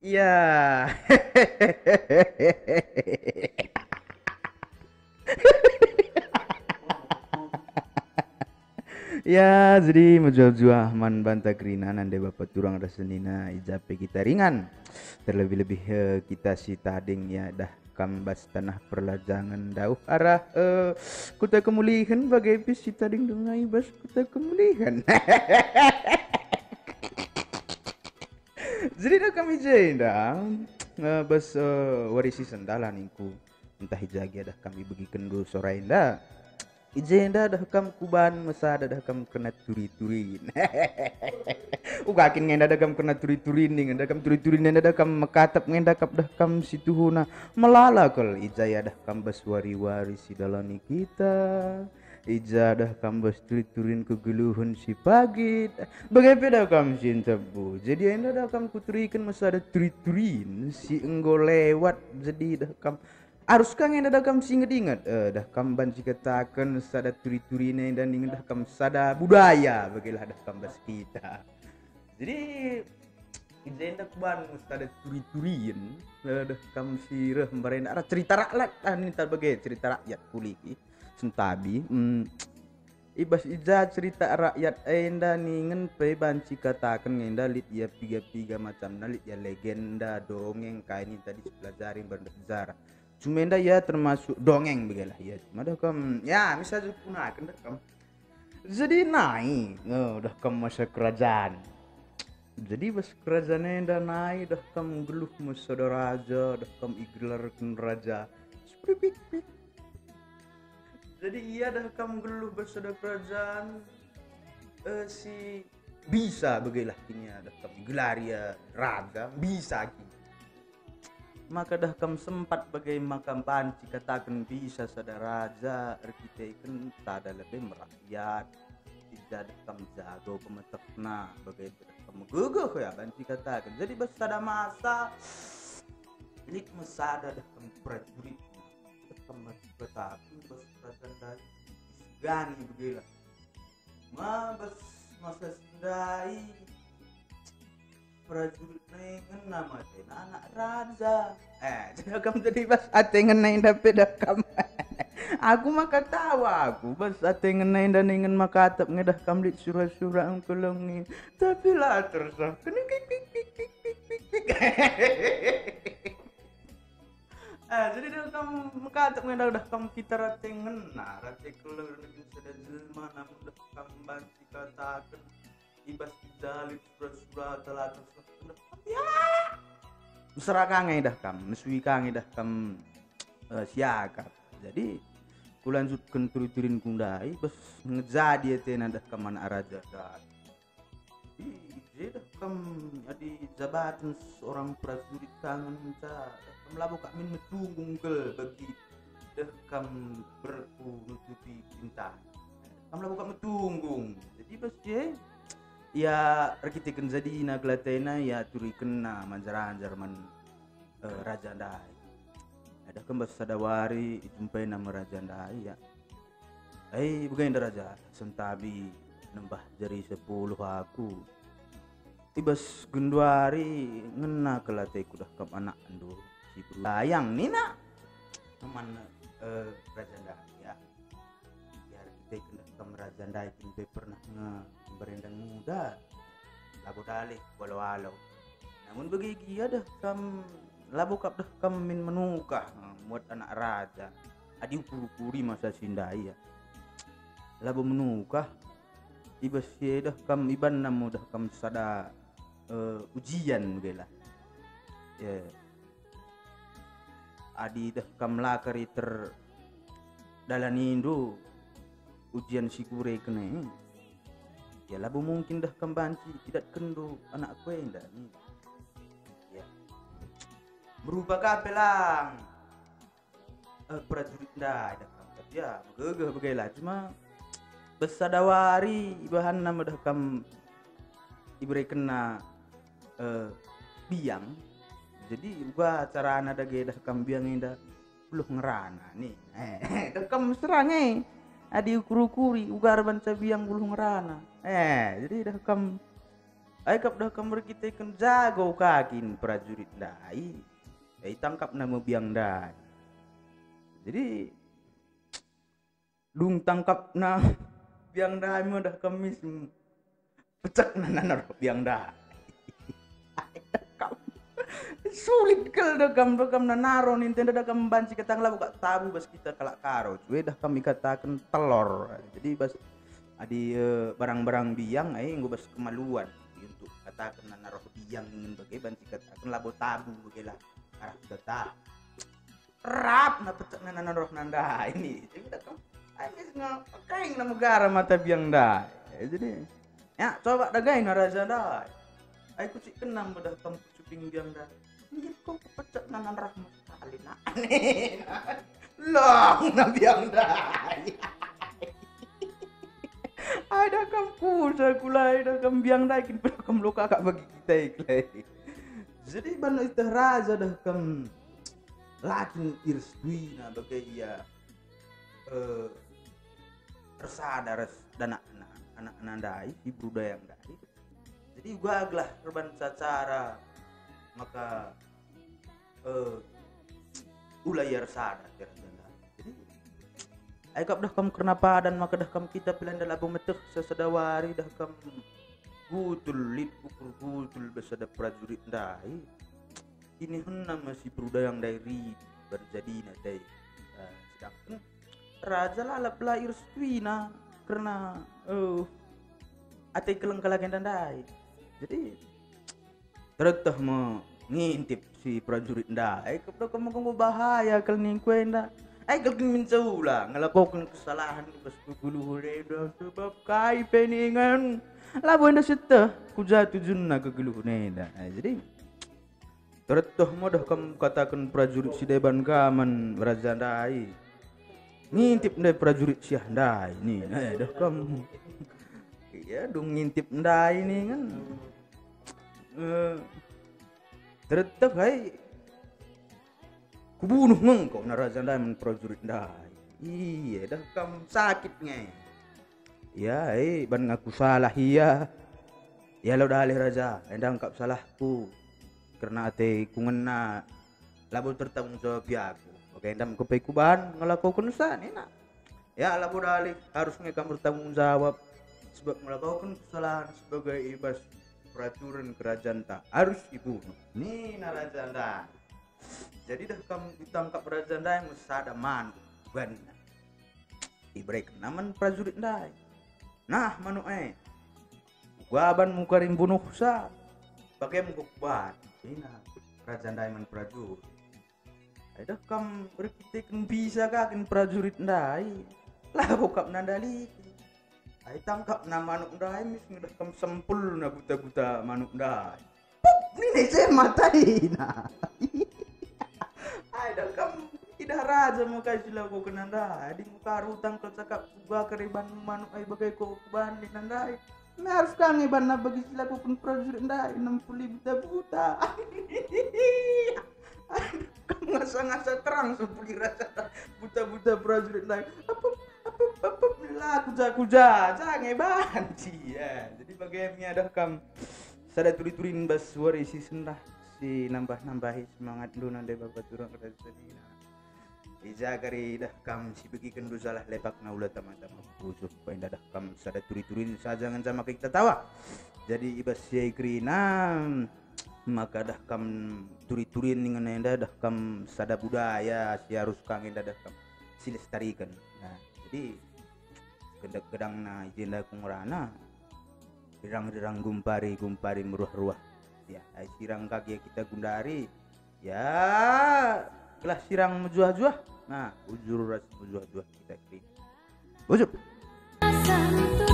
Iya. Ya, jadi menjual-jual man banta krinan ande bapak turang rasenina ijape kita ringan. Terlebih-lebih kita si tading ya dah kambas tanah perlajangan dauh arah kuta kemulihan bagai bis si tading dungai bas kuta kemulihan. Jadi dah kami dah bas warisi sendalan ningku entah hijagi dah kami bagi kendu sore indah. Ijenda dah kam kuban masa dah kam kena turi-turin. Ugakin ngenda dah kam kena turi-turin ning dah kam turi-turin dah kam makatap ngenda kap dah kam situhuna melala kal ijaya dah kam bas wari-wari si dalani kita. Ija dah kam bas turi-turin kegeluhun si pagi. Bagaimana dah kam cinta bu. Jadi enda dah kam kuturikan masa ada turi-turin si enggo lewat jadi dah kam harus kang yang dah kam singet ingat dah kam ban katakan sada turi-turine dan ingin dah kam sada budaya bagilah dah kam bas kita. Jadi ijen dah ban sada turi-turin dah kam sirah barenda ara cerita rakyat nita bagai cerita rakyat kuli sentabi ibas ija cerita rakyat enda ningen pe banci katakan enda lit ya piga-piga macam nalit ya legenda dongeng kayak ini tadi pelajarin berdasar cuma enda ya termasuk dongeng begilah ya cuma dah kam ya misal gunakan dah kam jadi naik dah kam masa kerajaan jadi bas kerajaan enda naik dah kam geluh masa dah raja dah kam igelarkan raja seperti jadi iya dah kam geluh masa dah kerajaan si bisa begilah kini ada kam gelar ya raja bisa kini maka dah kam sempat bagai makam panci katakan bisa sada raja arkiteken tada lebih merakyat tidak ada kam jago pemetekna bagai kam guguh ya panci katakan jadi bas sada masa lik mesada dah kam prajurit kam katakan bas kerajaan dari gani begilah ma bas masa sindai prajurit nengen nama tena anak raja jadi kamu jadi bas atengen nain dapet dakam aku maka tawa aku bas atengen nain dan ingin maka atap ngedah kamlit surah-surah ang kelengin tapi lah tersah kena kik kik kik kik kik kik kik jadi dah kamu maka atap ngedah dah kamu kita ratengen nah rate keleng negeri sedang jelma namun dah kamu banci katakan ibas jalip surah-surah telah tersebut ya mesra kangen dah kam mesui kangen dah kam siakat jadi kulanjutkan turi-turin kundai bes ngejadi tena dah kam anak raja dah jadi dah kam adi jabatan seorang prajurit kangen minta kam labu kak min metunggung ke bagi dah kam berku nutupi cinta kam labu kak metunggung jadi bes ya arkiteken jadi na glatena ya turiken na manjaran Jerman raja dai ada kembas sadawari jumpai nama raja dai ya bukan raja sentabi nembah jari 10 aku ibas gendwari ngena kelateku dah kam anak ando si bayang nina teman raja dai ya arkiteken dah kam raja dai kimpe pernah berendang muda labu dalih walau-walau namun begigi ada kam labu kap dah kam min menukah muat anak raja adi ukuri masa sindai ya labu menukah ibas dah kam iban namu dah kam sada ujian begila ya adi dah kam lakari ter dalani indu ujian sikure kene ya labu mungkin dah kembanci tidak kendo anak kue indah nih ya berubah kapelang prajurit dah kam ya begegeh begela cuma besadawari bahan nama dah kam ibere kena biang jadi gua cara anak dah dah kam biang indah belum ngerana nih dah kam serang adi ukur-ukuri ugar banca biang belum ngerana jadi dah kam Ai kap dah kamar kita kan jago kakin prajurit dai. Ai tangkap nama biang dai. Jadi dung tangkap na biang dai mo dah kamis pecak nanar biang dai. Sulit kal dah kam nanaro Nintendo dah kam banci katang lah buka tabu bas kita kalak karo. Cuy dah kami katakan telur. Jadi bas adi barang-barang biang ai nggo bas kemaluan untuk katakan naruh biang ingin bagai banci katakan labo tabu bagai lah arah data rap na petak naruh nanda ini jadi dah kam ai kaing na negara mata biang dah jadi ya coba dagai naraja dah ai kucik kenam dah kam kucing biang dah ini kok petak naruh sekali na aneh long na biang dah ada kamu kulai ada kam biang daikin pada kam lo kakak bagi kita iklai jadi bano itu raja dah kam lakin irstui na bagai ia tersadar dan anak nandai di budaya yang dai jadi gua aglah korban secara maka ulayar sadar jadi ai kap dah kam kenapa dan maka dah kam kita pilihan dalam metek sesedawari dah kam gutul lid ukur gutul besada prajurit dai ini henna masih budaya yang dari berjadi na dai sedangkan raja lalap lahir stuina karena ate kelengkalagan dan dai jadi tertah mau ngintip si prajurit dai kap dah kam mau bahaya kal ning kuenda ai galkin mincaula ngelakukan kesalahan bas guluhur dah sebab kai peningan labo enda seta ku jatuh junna ke guluhur dah jadi tertoh modah kam katakan prajurit si deban kaman raja dai ngintip ndai prajurit siah dai ni dah kam iya dong ngintip ndai ni kan tertoh hai kubunuh mengkau naraja dai men prajurit dai iya dah kam sakit nge ya ban ngaku salah iya ya lo dah alih raja endang kap salahku karena ate ku ngena labo tertanggung jawab aku oke endam ku pe kuban ngelakukan san enak ya labo dah alih harus ngekam bertanggung jawab sebab melakukan kesalahan sebagai ibas peraturan kerajaan tak harus dibunuh ni naraja dai jadi dah kamu ditangkap raja dai musada man ban ibrek naman prajurit dai nah manu guaban mukarim bunuh sa bagai mukban ina raja dai man prajurit dah kam berkitekan bisa kakin prajurit dai lah bokap nandali ai tangkap na manuk dai mis dah kam sempul na buta-buta manuk dai ni ne matai na ai dah kam tidak raja mo kay sila ko kananda di muka rutang ko cakap gua keriban manuk ai bagai ko ban di nandai na harus kang iban na bagi sila ko pun prajurit ndai 60 buta kamu ngasa-ngasa terang seperti rasa buta-buta prajurit ndai apa lah kuja jangan iban ya jadi bagaimana dah kam sada turi-turin bas suara isi sendah si nambah-nambahi semangat lu nandai bapak turang kada sedina ija kari dah kam si begikan du salah lepak na ulah tama-tama busuh painda dah kam sada turi-turin saja ngan sama kita tawa jadi ibas si krina maka dah kam turi-turin dengan enda dah kam sada budaya si harus kang enda dah kam silestarikan nah jadi gedang na ijenda kungrana dirang-dirang gumpari meruah-ruah ya sirang kaki kita gundari ya kelah sirang menjuah-juah nah ujur ras menjuah-juah kita kiri ujub